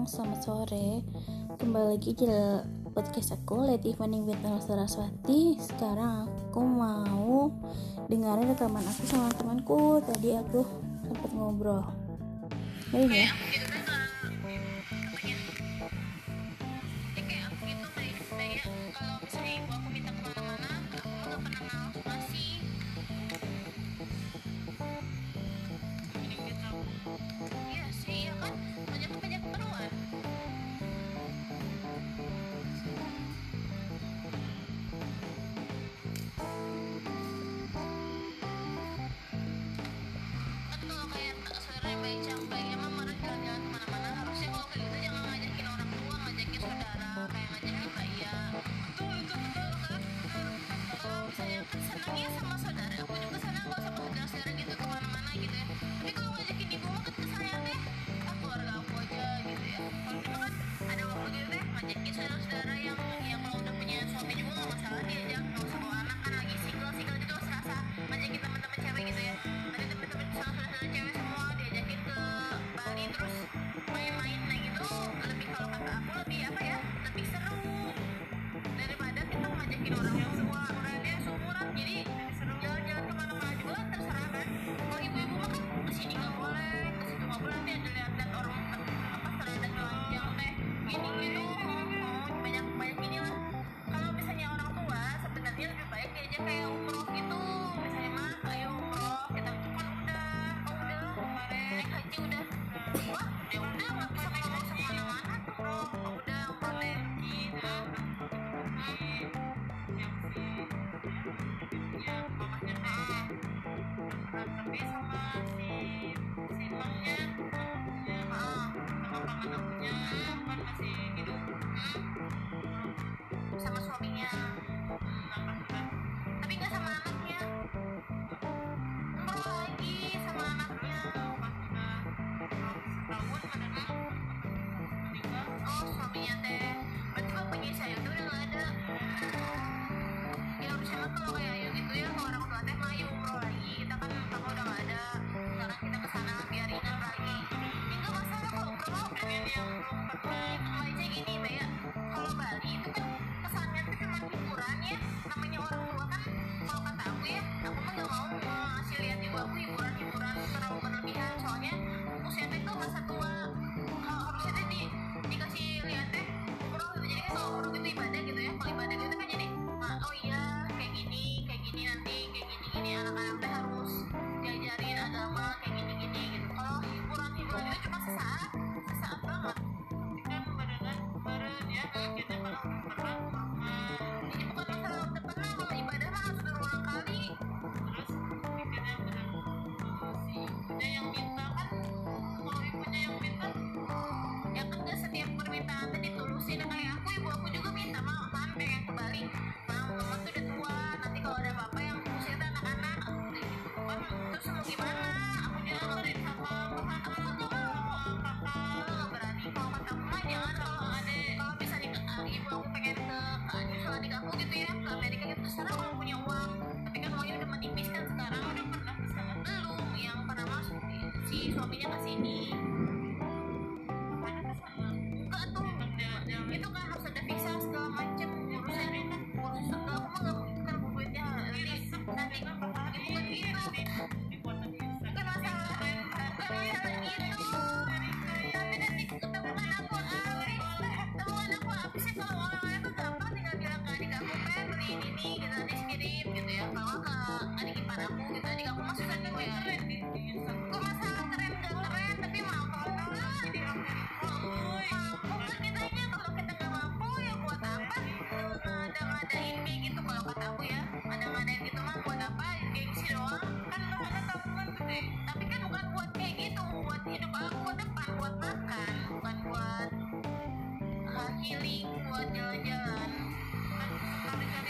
selamat sore. Kembali lagi di podcast aku, Let Evening with Nala Saraswati. Sekarang aku mau dengerin rekaman aku sama temanku. Tadi aku sempat ngobrol. Baik ya? Sama suaminya, tapi nggak sama anaknya. Umroh lagi sama anaknya. Oh, suaminya teh. Berarti bapaknya saya tuh udah nggak ada. Ya harusnya mah kalau kayak Ayu gitu ya, kalau orang tua teh mah Ayu umroh lagi. Kita kan bapak udah nggak ada. Sekarang kita kesana biarin lagi. Ya nggak masalah kalau umroh pengen yang belum pernah. Kalau aja gini, Mbak ya. Kalau Bali itu kan kesannya tuh cuma hiburan ya. Namanya orang tua kan, kalau kata aku ya, aku mah nggak mau ngasih lihat ibu aku hiburan terlalu berlebihan. Soalnya usianya tuh masa tua. Harusnya tuh dikasih lihat deh umroh gitu. Jadi kan kalau umroh gitu ibadah gitu ya. Kalau ibadah gitu kan jadi oh iya kayak gini nanti kayak gini anak-anak teh harus diajarin agama kayak gini gitu. Kalau hiburan itu cuma sesaat banget. Kan badan ya kita kalau pernah ini bukan masalah udah pernah. Kalau ibadah mah harus berulang kali. Terus pikirnya benar si ibunya yang minta kan. Kalau ibunya yang minta ya kan gak setiap permintaan tadi ditulusin. Kayak ibu aku juga minta kan pengen ke Bali. Mama tuh udah tua, nanti kalau ada apa-apa yang usia anak-anak kan terus mau gimana. Aku juga ngerin sama kakak nggak berani. Kalau kata mama jangan. Kalau misalnya ibu aku pengen ke nyusul adik aku gitu ya ke Amerika gitu, terserah kalau punya uang. Tapi kan uangnya udah menipis kan sekarang. Udah pernah kesana belum? Yang pernah masuk si suaminya ke sini. Enggak tuh, itu kan harus ada visa segala macem urusan itu. Aku mah nggak bukan duitnya nanti bukan gitu. Bukan masalah itu. Tapi nanti temuan aku apa sih kalau orang-orang tuh gampang tinggal bilang ke adik aku beli ini gitu, adik kirim gitu ya. Kalau ke adik ipar aku gitu, adik aku mah susah nih ya. Kok masalah keren gak keren, tapi mampu lah di Amerika. Mampu kan kitanya. Kalau kita nggak mampu ya buat apa ngada-ngadain kayak gitu. Kalau kata aku ya, ngada-ngadain gitu mah buat apa? Gengsi doang kan. Ada tabungan gede, tapi kan bukan buat kayak gitu. Buat hidup aku depan, buat makan, bukan buat healing, buat jalan-jalan. Kan sekali kan